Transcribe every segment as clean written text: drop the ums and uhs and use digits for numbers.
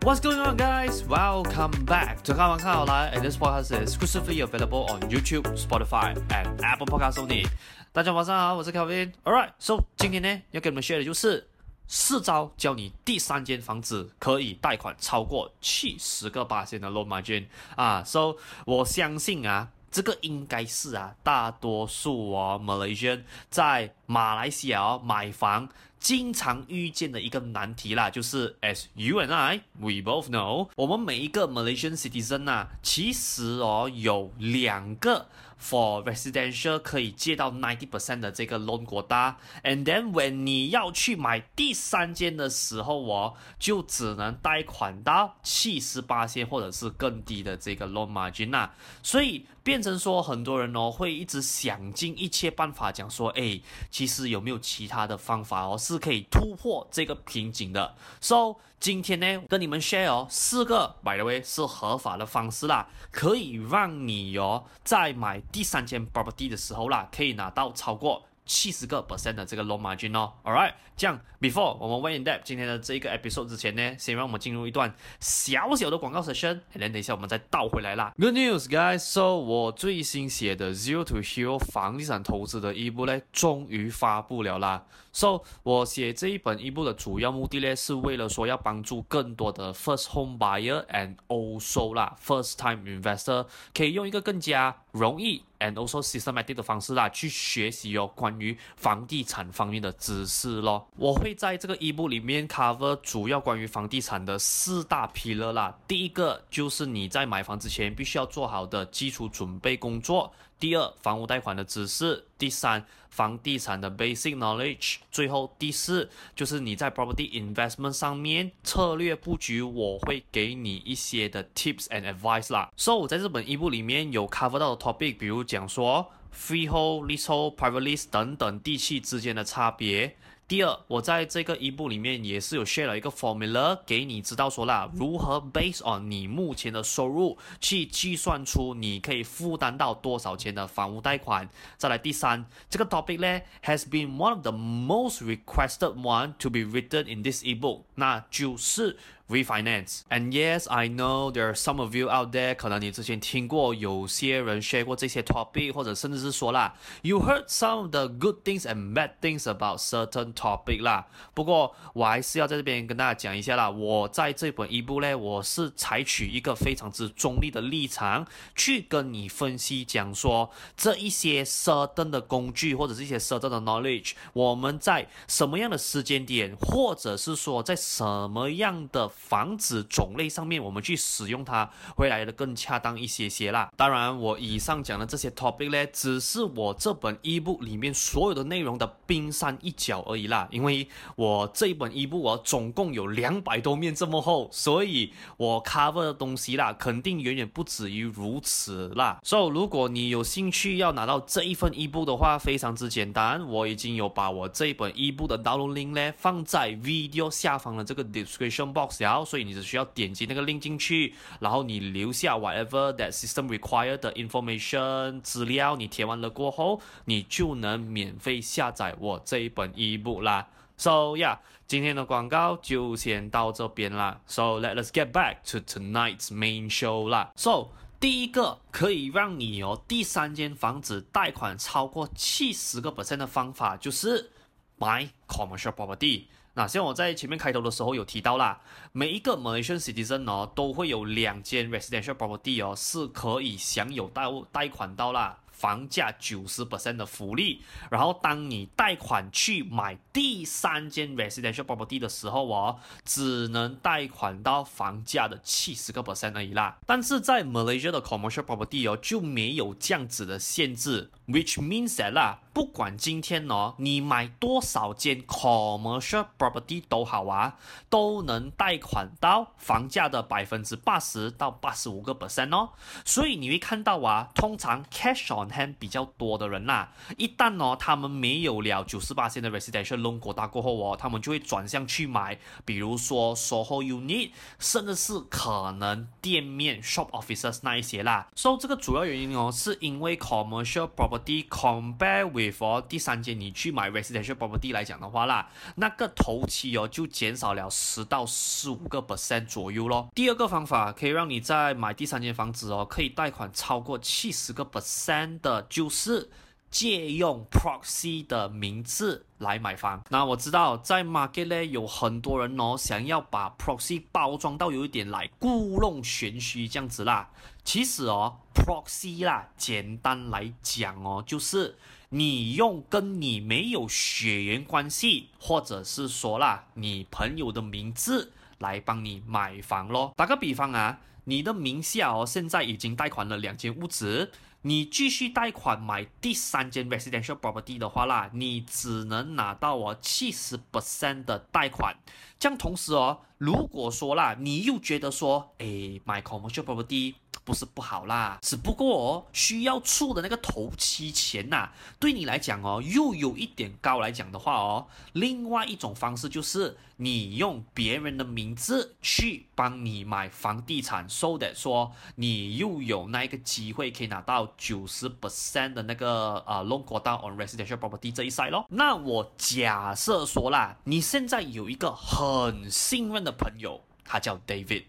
What's going on, guys? Welcome back to 看完看好來 and this podcast is exclusively available on YouTube, Spotify, and Apple Podcasts only. 大家晚上好，我是 Kelvin. Alright, so 今天呢要跟你們 share 的就是4招教你第3間房子可以貸款超過70%的 loan margin 啊。So 我相信啊，這個應該是大多數Malaysian 在馬來西亞買房經常遇見的一個難題啦，就是 as you and I, we both know， 我們每一個 Malaysian citizen 其實有2個 for residential 可以借到 90% 的這個 loan quota， and then when 你要去買第3間的時候就只能貸款到70%或者是更低的這個 loan margin 啦，所以變成說很多人會一直想盡一切辦法講說，其實有沒有其他的方法是可以突破這個瓶頸的。 So 今天呢跟你們 share 4個 by the way 是合法的方式啦，可以讓你在買第3間 property 的時候啦，可以拿到超過70% 的這個 loan margin Alright， 這樣 before 我們 went in depth 今天的這個 episode 之前呢，先讓我們進入一段小小的廣告 session， and then 等一下我們再倒回來啦。Good news guys， so 我最新寫的 Zero to Hero 房地產投資的e-book 呢，終於發布了啦。So 我寫這一本e-book 的主要目的呢，是為了說要幫助更多的 first home buyer and also first time investor 可以用一個更加容易 and also systematic 的方式去學習關於房地產方面的知識咯。我會在這個 e-book 裡面 cover 主要關於房地產的4大 pillar 啦。第一個就是你在買房之前必須要做好的基礎準備工作。第2，房屋貸款的知識。第3，房地產的 basic knowledge。最後第4，就是你在 property investment 上面策略布局，我會給你一些的 tips and advice 啦。So 我在這本 e-book 裡面有 cover 到的 topic， 比如講說 freehold、leasehold、private lease 等等地契之間的差別。第2，我在這個 e-book 裡面也是有 share 了一個 formula 給你知道說啦，如何 based on 你目前的收入去計算出你可以負擔到多少錢的房屋貸款。再來第3，這個 topic 呢 has been one of the most requested one to be written in this e-book， 那就是 refinance. And yes, I know there are some of you out there 可能你之前聽過有些人 share 過這些 topic， 或者甚至是說啦 you heard some of the good things and bad things about certain topic 啦。不過我還是要在這邊跟大家講一下啦，我在這本 e-book 呢，我是採取一個非常之中立的立場去跟你分析講說這一些 certain 的工具或者是一些 certain 的 knowledge， 我們在什麼樣的時間點，或者是說在什麼樣的房子種類上面我們去使用它會來的更恰當一些些啦。當然我以上講的這些 topic 呢，只是我這本 e-book 裡面所有的內容的冰山一角而已啦，因為我這一本 e-book 總共有200多面這麼厚，所以我 cover 的東西啦肯定遠遠不止於如此啦。So 如果你有興趣要拿到這一份 e-book 的話，非常之簡單，我已經有把我這一本 e-book 的 download link 呢放在 video 下方的這個 description box，所以你只需要點擊那個 link 進去，然後你留下 whatever that system required 的 information 資料，你填完了過後，你就能免費下載我這一本 e-book 啦。So yeah， 今天的廣告就先到這邊啦。So let's get back to tonight's main show 啦。So 第一個可以讓你第3間房子貸款超過70% 的方法就是買 commercial property。那像我在前面開頭的時候有提到啦，每一個 Malaysian citizen 都會有2間 residential property 是可以享有貸款到啦房價 90% 的福利。然後當你貸款去買第3間 residential property 的時候只能貸款到房價的 70% 而已啦。但是在 Malaysia 的 commercial property 就沒有這樣子的限制， which means that 啦，不管今天你買多少間 commercial property 都好都能貸款到房價的 80% 到 85% 所以你會看到通常 cash on hand 比較多的人啦，一旦他們沒有了 90% 的 residential loan quota 過後他們就會轉向去買比如說 SOHO unit， 甚至是可能店面 shop offices 那一些啦。所以這個主要原因是因為 commercial property compare with before 第三間你去買 residential property 來講的話啦，那個頭期哦就減少了10到15% 左右咯。第二個方法可以讓你在買第三間房子哦，可以貸款超過70% 的，就是借用 proxy 的名字來買房。那我知道在 market 呢有很多人哦想要把 proxy 包裝到有一點來故弄玄虛這樣子啦。其實哦 proxy 啦，簡單來講哦，就是你用跟你沒有血緣關係，或者是說啦你朋友的名字來幫你買房咯。打個比方啊，你的名下哦現在已經貸款了2間屋子，你繼續貸款買第三間 residential property 的話啦，你只能拿到70% 的貸款。這樣同時哦，如果說啦，你又覺得說，買 commercial property 不是不好啦，只不過哦，需要出的那個頭期錢吶，對你來講哦，又有一點高來講的話哦，另外一種方式就是你用別人的名字去幫你買房地產 so that 說你又有那一個機會可以拿到90% 的那個loan quota on residential property 這一 side 咯。那我假設說啦，你現在有一個很信任的朋友，他叫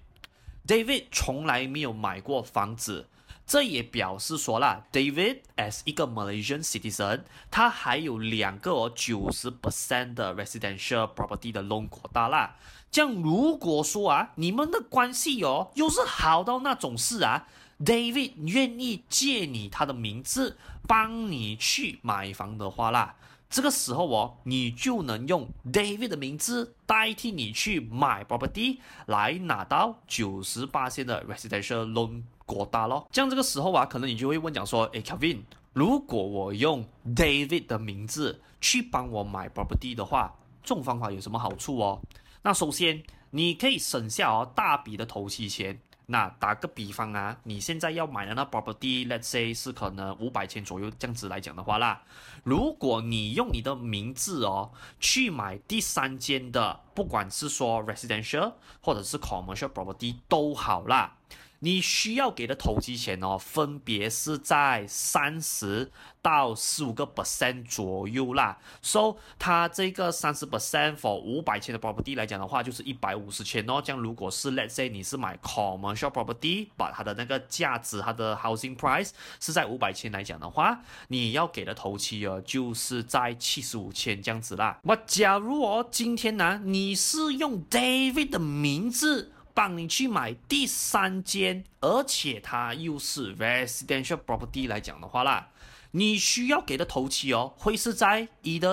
David 從來沒有買過房子，這也表示說啦 David as 一個 Malaysian citizen， 他還有2個90% 的 residential property 的 loan quota 啦。這樣如果說啊，你們的關係哦，又是好到那種事啊， David 願意借你他的名字幫你去買房的話啦，這個時候哦，你就能用 David 的名字代替你去買 property 來拿到90% 的 residential loan quota咯。這樣這個時候啊，可能你就會問講說，Kelvin， 如果我用 David 的名字去幫我買 property 的話，這種方法有什麼好處哦？那首先，你可以省下大筆的頭期錢。那打個比方啊，你現在要買的那 property，let's say 是可能500千左右這樣子來講的話啦，如果你用你的名字哦去買第三間的，不管是說 residential 或者是 commercial property 都好啦，你需要給的頭期錢哦，分別是在30到15% 左右啦。So 它這個30% for 500千的 property 來講的話，就是150千哦。這樣如果是 let's say 你是買 commercial property， 把它的那個價值，它的 housing price 是在500千來講的話，你要給的頭期哦，就是在75千這樣子啦。那假如哦，今天呢，你是用 David 的名字幫你去買第三間，而且它又是 residential property 來講的話啦，你需要給的頭期哦，會是在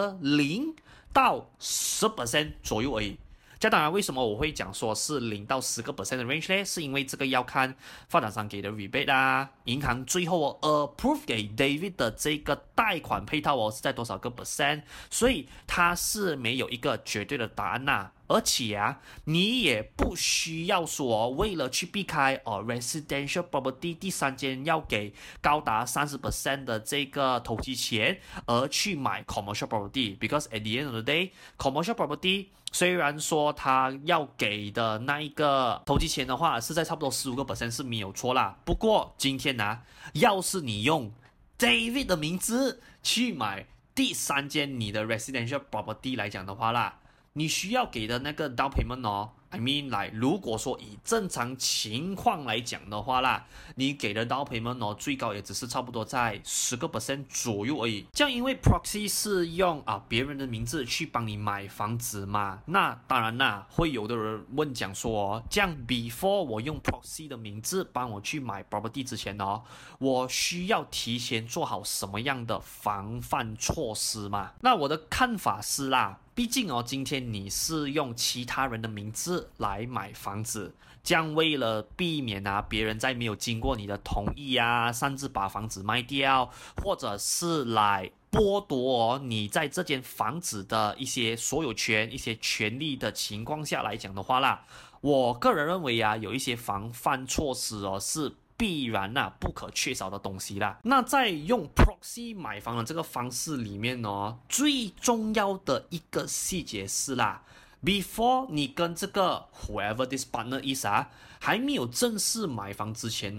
0到10% 左右而已。這當然，為什麼我會講說是0到10% 的 range 呢？是因為這個要看發展商給的 rebate 啊，銀行最後approve 給 David 的這個貸款配套哦是在多少個 percent， 所以它是沒有一個絕對的答案吶。而且啊，你也不需要說為了去避開residential property 第三間要給高達30% 的這個頭期錢而去買 commercial property，because at the end of the day commercial property 雖然說他要給的那一個頭期錢的話是在差不多15% 是沒有錯啦。不過今天呢，要是你用 David 的名字去買第三間你的 residential property 來講的話啦，你需要給的那個 down payment 哦，I mean 來，如果說以正常情況來講的話啦，你給的 down payment 哦，最高也只是差不多在10% 左右而已。這樣因為 proxy 是用別人的名字去幫你買房子嘛，那當然啦，會有的人問講說，這樣 before 我用 proxy 的名字幫我去買 property 之前哦，我需要提前做好什麼樣的防範措施嘛？那我的看法是啦，畢竟哦，今天你是用其他人的名字來買房子，這樣為了避免別人在沒有經過你的同意擅自把房子賣掉，或者是來剝奪你在這間房子的一些所有權、一些權利的情況下來講的話啦，我個人認為有一些防範措施是必然不可缺少的東西啦。那在用 proxy 買房的這個方式裡面呢，最重要的一個細節是啦 ，before 你跟這個 whoever this partner is 還沒有正式買房之前呢，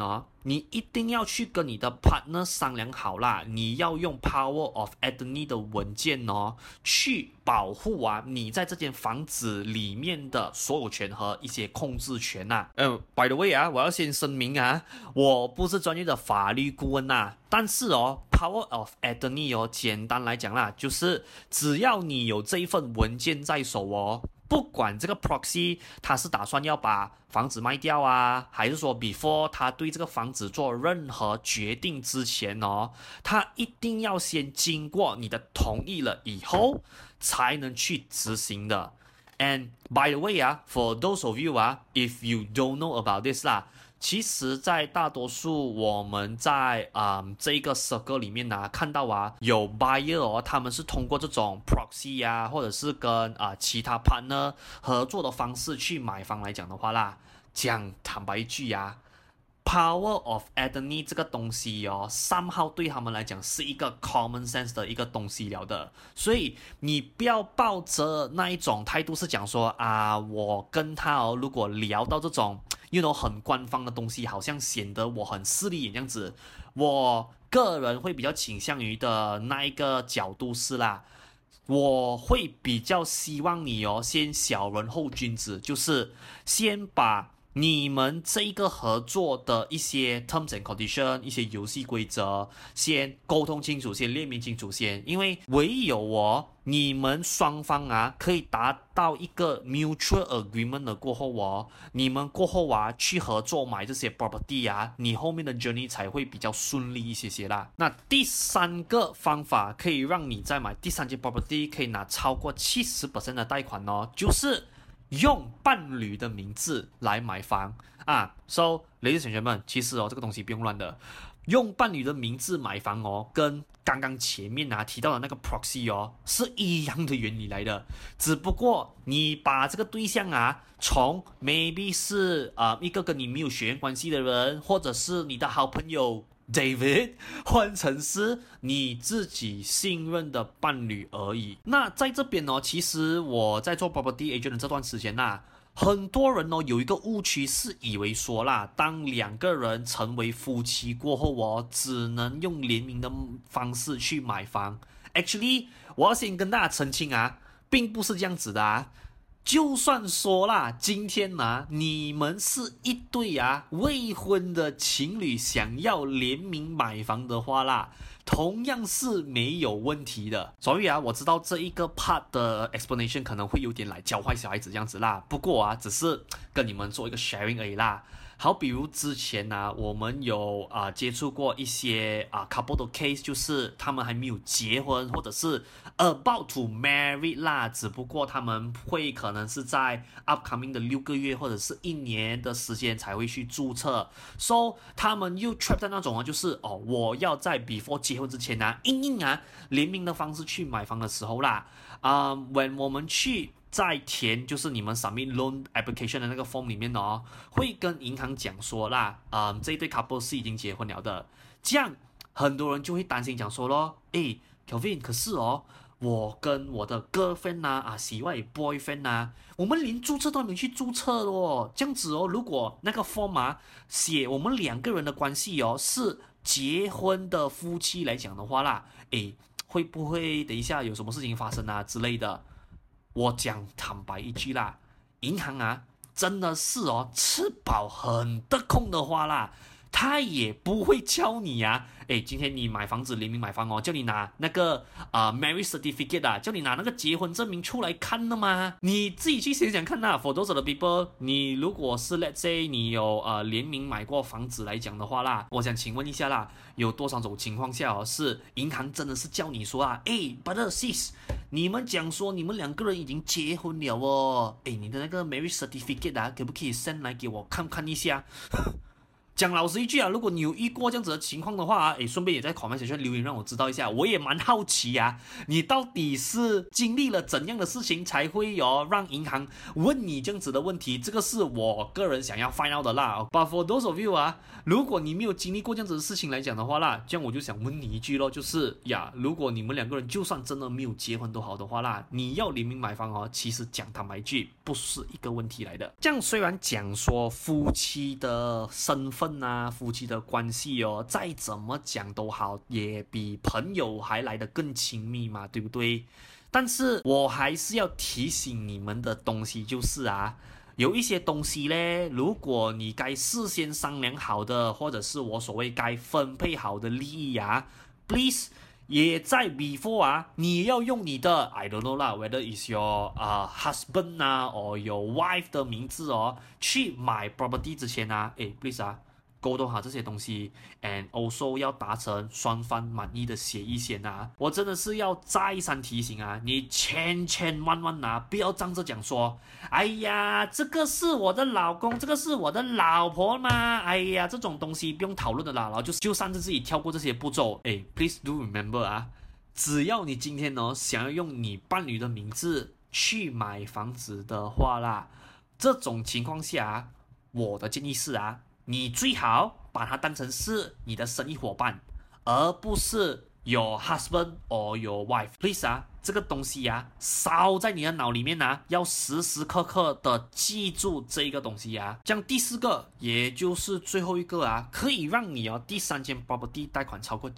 你一定要去跟你的 partner 商量好啦，你要用 Power of Attorney 的文件去保護你在這間房子裡面的所有權和一些控制權by the way 我要先聲明我不是專業的法律顧問但是Power of Attorney 簡單來講啦，就是只要你有這一份文件在手不管這個 proxy 他是打算要把房子賣掉還是說 before 他對這個房子做任何決定之前他一定要先經過你的同意了以後才能去執行的。And by the way for those of you if you don't know about this其實在大多數我們在這一個 circle 裡面看到有 buyer 他們是通過這種 proxy 或者是跟其他 partner 合作的方式去買房來講的話啦，講坦白一句Power of Attorney 這個東西somehow 對他們來講是一個 common sense 的一個東西了的，所以你不要抱着那一種態度是講說我跟他如果聊到這種很官方的東西，好像顯得我很勢利眼這樣子。我個人會比較傾向於的那一個角度是我會比較希望你先小人後君子，就是先把你們這一個合作的一些 terms and condition 一些遊戲規則先溝通清楚，先列明清楚先，因為唯有你們雙方可以達到一個 mutual agreement 的過後你們過後去合作買這些 property 你後面的 journey 才會比較順利一些啦。那第三個方法可以讓你在買第三間 property 可以拿超過 70% 的貸款就是用伴侶的名字來買房So ladies and gentlemen，其實這個東西不用亂的，用伴侶的名字買房跟剛剛前面提到的那個 proxy 是一樣的原理來的，只不過你把這個對象從 maybe 是一個跟你沒有血緣關係的人，或者是你的好朋友David 換成是你自己信任的伴侶而已。那在這邊其實我在做 property agent 的這段時間很多人有一個誤區是以為說當兩個人成為夫妻過後只能用聯名的方式去買房。Actually 我要先跟大家澄清並不是這樣子的就算說今天你們是一對未婚的情侶想要聯名買房的話同樣是沒有問題的。所以我知道這一個 part 的 explanation 可能會有點來教壞小孩子這樣子不過只是跟你們做一個 sharing 而已好，比如之前我們有接觸過一些couple 的 case， 就是他們還沒有結婚，或者是 about to marry 只不過他們會可能是在 upcoming 的6個月或者是1年的時間才會去註冊 ，so 他們又 trap 在那種就是我要在 before 結婚之前硬聯名的方式去買房的時候when 我們去在填就是你們 submit loan application 的那個 form 裡面會跟銀行講說這一對 couple 是已經結婚了的，這樣很多人就會擔心講說咯，Kelvin 可是我跟我的 girlfriend 喜歡 boyfriend 我們連註冊都還沒去註冊的這樣子如果那個 form 寫我們兩個人的關係是結婚的夫妻來講的話會不會等一下有什麼事情發生之類的？我講坦白一句銀行真的是吃飽很得空的話他也不會教你今天你買房子聯名買房叫你拿那個marriage certificate 叫你拿那個結婚證明出來看的嗎？你自己去想想看for those of the people， 你如果是 let's say 你有聯名買過房子來講的話我想請問一下有多少種情況下是銀行真的是叫你說brother sis， 你們講說你們兩個人已經結婚了你的那個 marriage certificate 可不可以 send 來給我看看一下？講老實一句如果你有遇過這樣子的情況的話順便也在 comment section 留言讓我知道一下，我也蠻好奇你到底是經歷了怎樣的事情才會讓銀行問你這樣子的問題，這個是我個人想要 find out 的But for those of you 如果你沒有經歷過這樣子的事情來講的話這樣我就想問你一句咯，就是如果你們兩個人就算真的沒有結婚都好的話你要聯名買房其實講坦白一句不是一個問題來的。這樣雖然講說夫妻的身份分啊，夫妻的關係哦，再怎麼講都好，也比朋友還來得更親密嘛，對不對？但是我還是要提醒你們的東西就是啊，有一些東西呢，如果你該事先商量好的，或者是我所謂該分配好的利益啊 ，please 也在 before 啊，你要用你的 I don't know 啦 ，whether is your husband 啊，or your wife 的名字哦，去買 property 之前啊，please 啊，溝通好這些東西 ，and also 要達成雙方滿意的協議先啊。我真的是要再三提醒啊，你千萬啊，不要仗着講說，哎呀，這個是我的老公，這個是我的老婆嘛，哎呀，這種東西不用討論的啦，然後就擅自自己跳過這些步驟。please do remember 啊，只要你今天呢想要用你伴侶的名字去買房子的話啦，這種情況下，我的建議是啊。你最好把它當成是你的生意夥伴，而不是 your husband or your wife。Please 啊，這個東西啊，燒在你的腦裡面啊，要時時刻刻的記住這個東西啊。這樣第四個，也就是最後一個啊，可以讓你第三間 property 貸款超過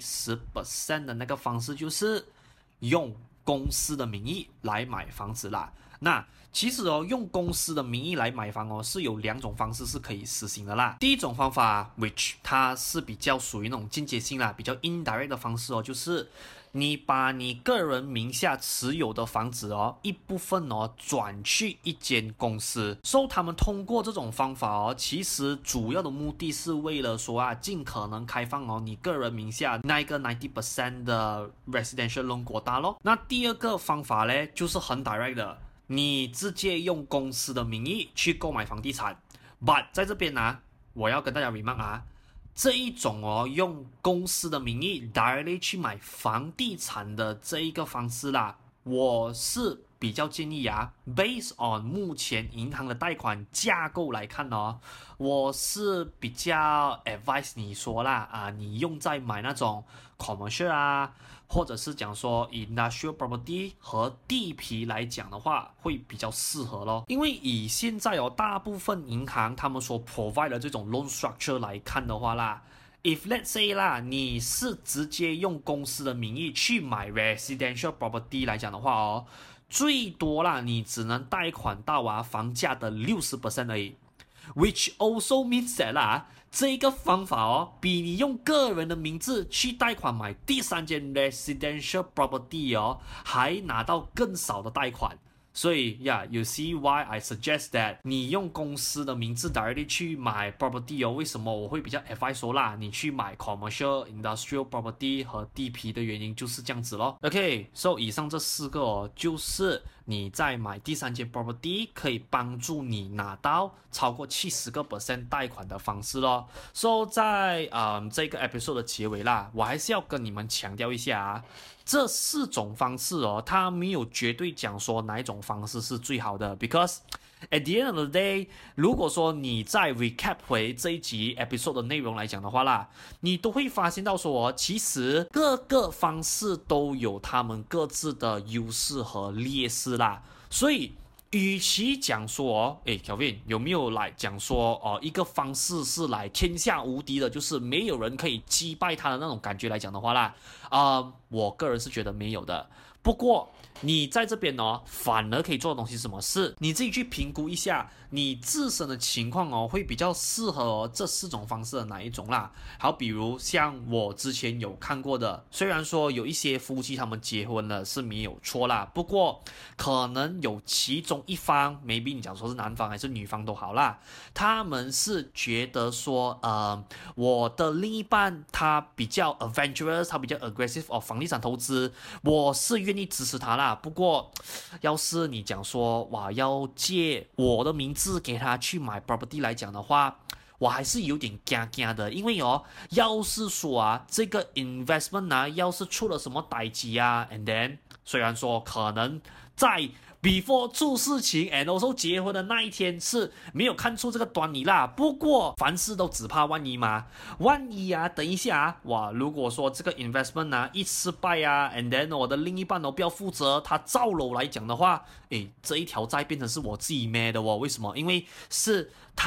70% 的那個方式，就是用公司的名義來買房子啦。那其實用公司的名義來買房是有兩種方式是可以實行的啦。第一種方法 which 它是比較屬於那種間接性啦，比較 indirect 的方式就是你把你個人名下持有的房子一部分轉去一間公司，所以他們通過這種方法其實主要的目的是為了說盡可能開放你個人名下那一個 90% 的 residential loan 國大咯。那第二個方法呢，就是很 direct 的。你直接用公司的名義去購買房地產 ，but 在這邊啊，我要跟大家 remark 啊，這一種用公司的名義 directly 去買房地產的這一個方式啦，我是比較建議啊 ，based on 目前銀行的貸款架構來看我是比較 advise 你說啦你用在買那種 commercial 啊，或者是講說 industrial property 和地皮來講的話，會比較適合咯。因為以現在大部分銀行他們所 provide 的這種 loan structure 來看的話啦，if let's say 啦，你是直接用公司的名義去買 residential property 來講的話最多啦，你只能貸款到房價的60% 而已。Which also means that 啦，這個方法比你用個人的名字去貸款買第三間 residential property 還拿到更少的貸款。所以you see why I suggest that 你用公司的名字 directly 去買 property 為什麼我會比較 advise 說啦，你去買 commercial industrial property 和地皮的原因就是這樣子咯。OK，so 以上這四個就是你在買第三間 property 可以幫助你拿到超過70% 貸款的方式咯。So 在這個 episode 的結尾啦，我還是要跟你們強調一下這四種方式它沒有絕對講說哪一種方式是最好的 ，because at the end of the day， 如果說你再 recap 回這一集 episode 的內容來講的話啦，你都會發現到說其實各個方式都有他們各自的優勢和劣勢啦，所以與其講說Kelvin 有沒有來講說一個方式是來天下無敵的，就是沒有人可以擊敗他的那種感覺來講的話啦，我個人是覺得沒有的。不過你在這邊反而可以做的東西是什麼？是你自己去評估一下你自身的情況會比較適合這四種方式的哪一種啦。好，比如像我之前有看過的，雖然說有一些夫妻他們結婚了是沒有錯啦，不過可能有其中一方 maybe 你講說是男方還是女方都好啦，他們是覺得說我的另一半他比較 adventurous， 他比較 aggressive 房地產投資，我是願意支持他啦。不過要是你講說要借我的名字給他去買 property 來講的話，我還是有點驚的，因為要是說這個 investment 要是出了什麼代誌and then 雖然說可能在before 出事情 and also 結婚的那一天是沒有看出這個端倪啦，不過凡事都只怕萬一嘛，萬一等一下如果說這個 investment 一失敗and then 我的另一半不要負責，他造樓來講的話，這一條債變成是我自己孭的為什麼？因為是他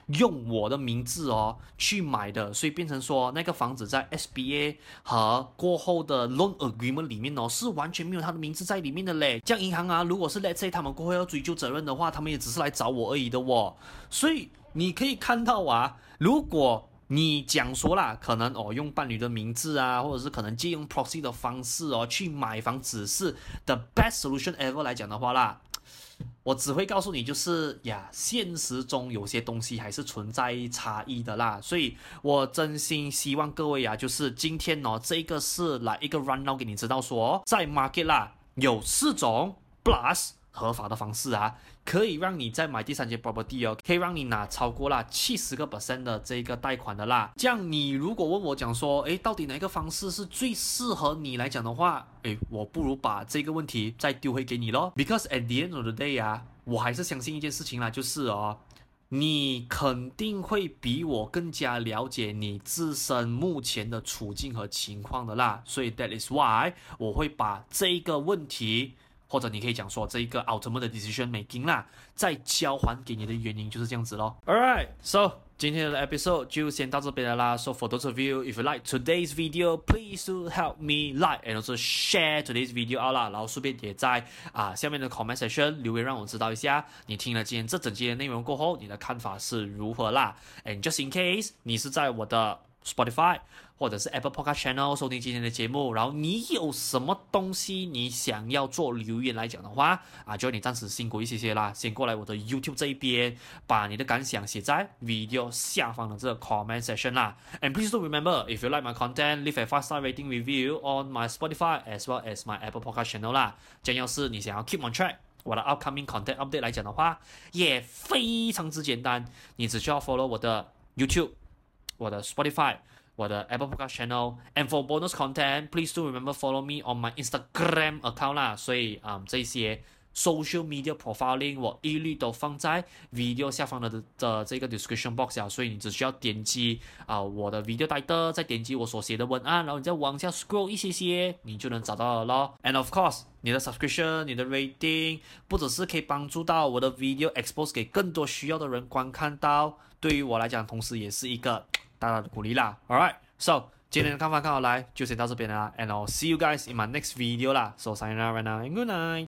用我的名字哦去買的，所以變成說那個房子在 SBA 和過後的 loan agreement 裡面哦是完全沒有他的名字在裡面的嘞。這樣銀行啊，如果是 let's say 他們過後要追究責任的話，他們也只是來找我而已的哦。所以你可以看到啊，如果你講說啦，可能用伴侶的名字啊，或者是可能借用 proxy 的方式去買房子是 the best solution ever 來講的話啦，我只會告訴你就是呀，現實中有些東西還是存在差異的啦，所以我真心希望各位啊，就是今天這個是來一個 rundown 給你知道說，在 market 啦有4種 plus 合法的方式啊，可以讓你在買第三間 property 可以讓你拿超過啦70% 的這個貸款的啦。這樣你如果問我講說，到底哪個方式是最適合你來講的話，我不如把這個問題再丟回給你咯。Because at the end of the day 啊，我還是相信一件事情啦，就是你肯定會比我更加了解你自身目前的處境和情況的啦。所以 that is why 我會把這個問題，或者你可以講說這一個 ultimate decision making 啦，再交還給你的原因就是這樣子咯。Alright, so 今天的 episode 就先到這邊了啦。So for those of you, if you like today's video, please do help me like and also share today's video out 啦。然後順便也在下面的 comment section 留言讓我知道一下，你聽了今天這整集的內容過後，你的看法是如何啦。And just in case 你是在我的Spotify 或者是 Apple Podcast Channel 收聽今天的節目，然後你有什麼東西你想要做留言來講的話就你暫時辛苦一些啦，先過來我的 YouTube 這一邊，把你的感想寫在 video 下方的這個 comment section 啦。And please do remember, if you like my content, leave a 5-star rating review on my Spotify as well as my Apple Podcast Channel 啦。這樣要是你想要 keep on track 我的 upcoming content update 來講的話，也非常之簡單，你只需要 follow 我的 YouTube、我的 Spotify、我的 Apple Podcast Channel, and for bonus content, please do remember follow me on my Instagram account 啦。所以這些 social media profiling 我一律都放在 video 下方的這個 description box 啊，所以你只需要點擊我的 video title， 再點擊我所寫的文案，然後你再往下 scroll 一些，你就能找到了咯。And of course， 你的 subscription、你的 rating， 不只是可以幫助到我的 video expose 給更多需要的人觀看到，對於我來講，同時也是一個大大的鼓勵啦。Alright, so 今天的看法看好來就先到這邊啦，and I'll see you guys in my next video 啦。So sayonara right now and good night.